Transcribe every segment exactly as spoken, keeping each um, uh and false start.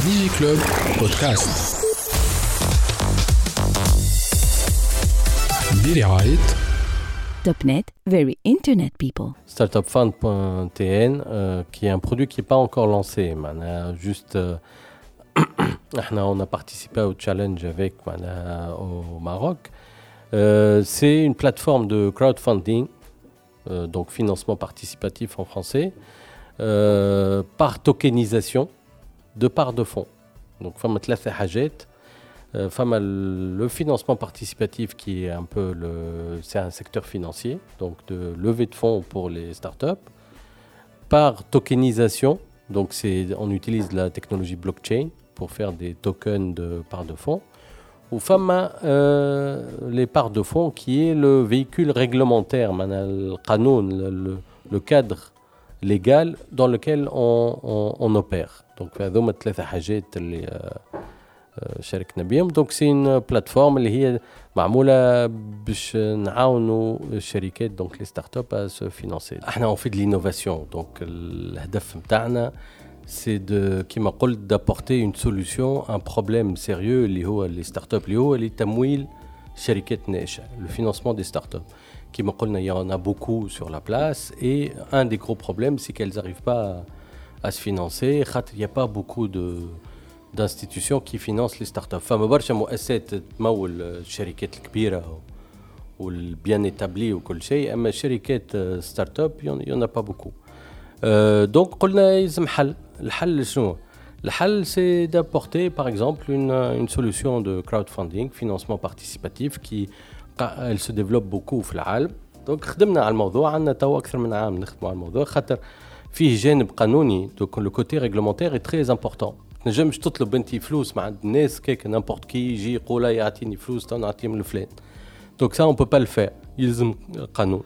ديجي كلوب بودكاست برعاية Top Net, very internet people. Startup Fund point T N, euh, qui est un produit qui n'est pas encore lancé. On juste, euh, on a participé au challenge avec au Maroc. Euh, c'est une plateforme de crowdfunding, euh, donc financement participatif en français, euh, par tokenisation de part de fonds. Donc, femme ثلاثة حاجات. Femme le financement participatif qui est un peu le, c'est un secteur financier, donc de levée de fonds pour les startups, par tokenisation, donc c'est, on utilise la technologie blockchain pour faire des tokens de parts de fonds, ou femme euh, les parts de fonds qui est le véhicule réglementaire, le qanoun, le, le cadre légal dans lequel on, on, on opère. Donc, هذوما ثلاثة حاجات اللي شاركنا بهم. Donc c'est une plateforme اللي هي معمولة باش نعاونوا الشركات donc les startups à se financer. احنا on fait de l'innovation. Donc الهدف متاعنا c'est de كما قلت d'apporter une solution un problème sérieux اللي هو les startups اللي هو اللي تمويل شركات ناشئة, le financement des startups. كما قلنا il y en a beaucoup sur la place et un des gros problèmes c'est qu'elles n'arrivent pas à, à se financer. Il n'y a pas beaucoup de d'institutions qui financent les startups. فما برشا مؤسسات تمول الشركات الكبيرة والبيان établi وكل شيء, أما شركات ستارت اب il y en a pas beaucoup. Euh, donc قلنا يلزم حل. الحل شنو؟ الحل c'est d'apporter par exemple une une solution de crowdfunding, financement participatif qui elle se développe beaucoup في العالم. donc خدمنا على الموضوع, عندنا تو أكثر من عام نخدموا على الموضوع خاطر فيه جانب قانوني. donc le côté réglementaire est très important. نجمش تطلب انتي فلوس مع الناس كيك نامبورت كي يجي يقول يعطيني فلوس تو نعطيهم الفلان. دونك سا اون بو با الفير, يلزم قانون.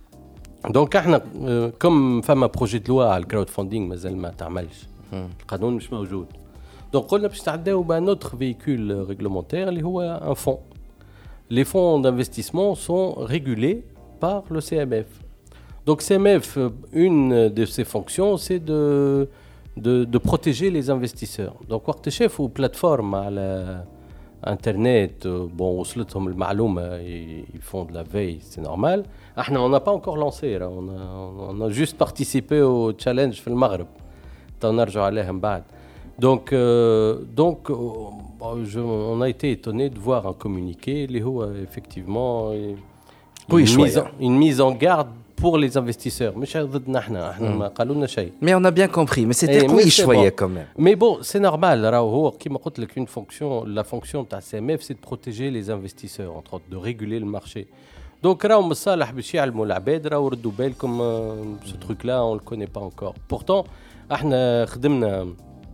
دونك احنا كم فما بروجي دو لوا على الكراود فاندينغ مازال ما تعملش, القانون مش موجود. دونك قلنا باش تعداو بان اوتر فيكول ريغلومونتير اللي هو ان فون. لي فون d'investissement sont régulés par le C M F. Donc C M F, une de ses fonctions c'est de De, de protéger les investisseurs. Donc, وقت شافوا plateforme على internet, bon, وصلتهم المعلومة, ils font de la veille, c'est normal. احنا on n'a pas encore lancé, là. On, a, on a juste participé au challenge في المغرب. تنرجع عليها من بعد. Donc, euh, donc je, on a été étonné de voir un communiqué اللي هو effectivement une, une, mise, une mise en garde pour les investisseurs. مش ضدنا احنا, احنا ما قالوا لنا شيء. Mais on a bien compris, mais c'était قوي شويه quand même. Mais bon, c'est normal. راهو هو كيما قلت لك une fonction, la fonction تاع C M F c'est de protéger les investisseurs, entre autres, de réguler le marché. Donc راهو مصالح باش يعلموا العباد, راهو ردوا بالكم ce truc là on le connaît pas encore. Pourtant احنا خدمنا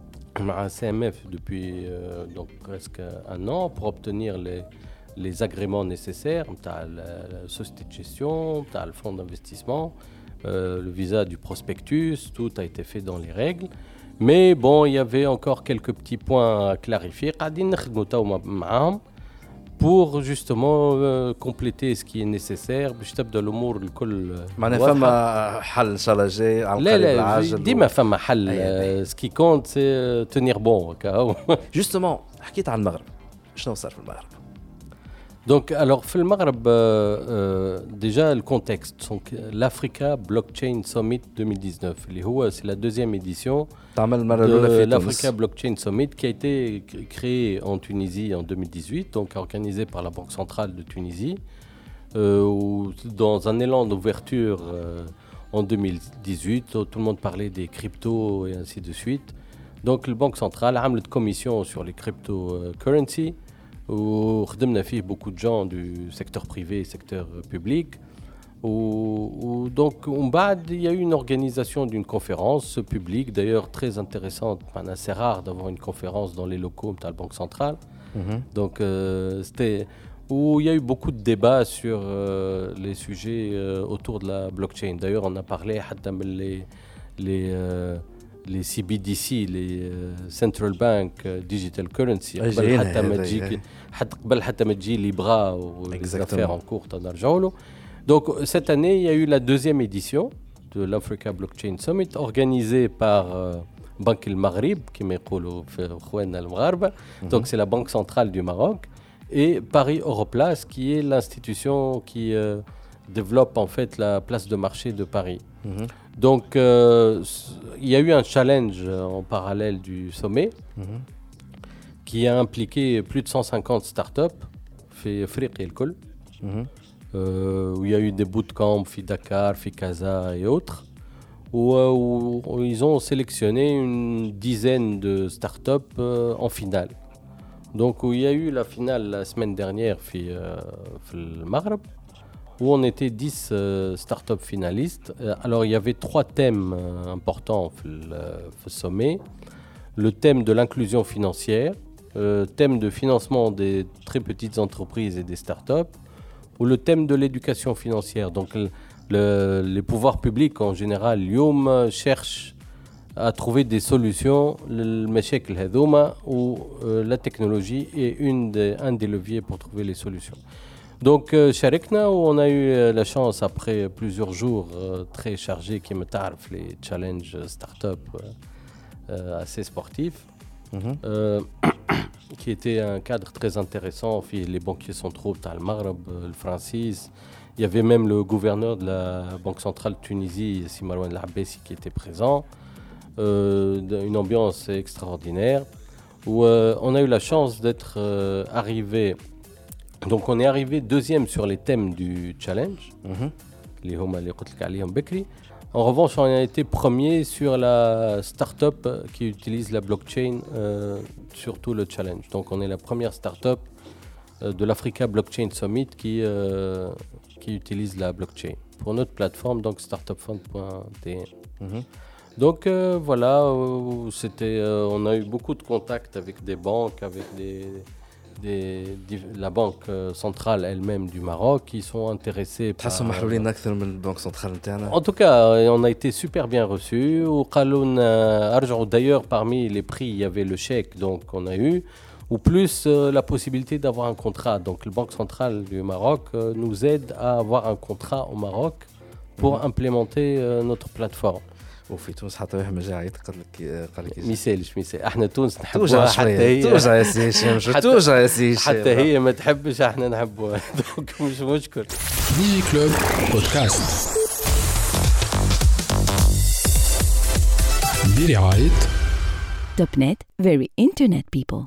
مع C M F depuis euh, donc presque un an pour obtenir les les agréments nécessaires, la société de gestion, le fonds d'investissement, euh, le visa du prospectus, tout a été fait dans les règles. Mais bon, il y avait encore quelques petits points à clarifier. Pour justement euh, compléter ce qui est nécessaire. باش تبدا الامور الكل معناها فما حل ان شاء الله جاي على القريب العاجل. ديما فما حل. ce qui compte c'est tenir bon. Justement, حكيت عن المغرب, شنو صار في المغرب؟ Donc, alors, في المغرب, euh, euh, déjà le contexte, donc l'Africa Blockchain Summit deux mille dix-neuf, اللي هو c'est la deuxième édition de l'Africa Blockchain Summit qui a été créée en Tunisie en deux mille dix-huit, donc organisée par la Banque centrale de Tunisie, euh, où, dans un élan d'ouverture euh, en deux mille dix-huit, tout le monde parlait des cryptos et ainsi de suite. Donc, la Banque centrale a عملت commission sur les cryptocurrencies. Où خدمنا فيه beaucoup de gens du secteur privé et secteur public. Où, où, donc, il y a eu une organisation d'une conférence publique, d'ailleurs très intéressante. C'est rare d'avoir une conférence dans les locaux de la Banque centrale. Mm-hmm. Donc, euh, c'était où il y a eu beaucoup de débats sur euh, les sujets euh, autour de la blockchain. D'ailleurs, on a parlé les, les euh, les C B D C, les uh, Central Bank uh, Digital Currency, قبل حتى ما تجي حتى قبل حتى ما تجي ليبرا والافfaires en cours تنرجعوا له. Donc cette année, il y a eu la deuxième édition de l'Africa Blockchain Summit organisée par euh, Banque le Maghreb, qui m'écoule le Maghreb. Donc c'est la banque centrale du Maroc. Et Paris Europlace, qui est l'institution qui euh, développe en fait la place de marché de Paris. Mm-hmm. Donc euh, il y a eu un challenge en parallèle du sommet mm-hmm. qui a impliqué plus de cent cinquante startups fait Afrique et le Col, mm-hmm. euh, où il y a eu des bootcamps, fait Dakar, fait Casa et autres, où, où, où ils ont sélectionné une dizaine de startups euh, en finale. Donc, où il y a eu la finale la semaine dernière euh, au Maghreb, où on était dix euh, startups finalistes. Euh, alors, il y avait trois thèmes euh, importants au sommet. Le thème de l'inclusion financière, le thème de financement des très petites entreprises et des startups, ou le thème de l'éducation financière. Donc, le, le, les pouvoirs publics, en général, Yom, cherchent à trouver des solutions للمشاكل هذوما où euh, la technologie est une des, un des leviers pour trouver les solutions. Donc euh, شاركنا où on a eu euh, la chance après plusieurs jours euh, très chargés qui me تعرف les challenges start-up euh, assez sportifs mm-hmm. euh, qui était un cadre très intéressant. Les banquiers centraux le Maghreb, le Francis. Il y avait même le gouverneur de la Banque centrale de Tunisie, Si Marouane El Abbasi, qui était présent. Euh, une ambiance extraordinaire où euh, on a eu la chance d'être euh, arrivé. Donc on est arrivé deuxième sur les thèmes du challenge. Mm-hmm. En revanche, on a été premier sur la start-up qui utilise la blockchain euh, sur tout le challenge. Donc on est la première start-up euh, de l'Africa Blockchain Summit qui, euh, qui utilise la blockchain pour notre plateforme, donc startup fund point t n. Mm-hmm. Donc euh, voilà, euh, c'était, euh, on a eu beaucoup de contacts avec des banques, avec des, des, des, la banque euh, centrale elle-même du Maroc qui sont intéressés par... En tout cas, on a été super bien reçus. D'ailleurs, parmi les prix, il y avait le chèque, donc on a eu, ou plus euh, la possibilité d'avoir un contrat. Donc la Banque centrale du Maroc euh, nous aide à avoir un contrat au Maroc pour mmh. implémenter euh, notre plateforme. وفي تونس حتى واحد ما جا عيط قال لك قال لك ما يسالش ما يسال احنا تونس نحبوها حتى هي توجع يا سي هشام توجع يا سي هشام حتى هي ما تحبش احنا نحبوها دونك مش مشكل. ديجي كلوب بودكاست برعاية توب نت very internet people.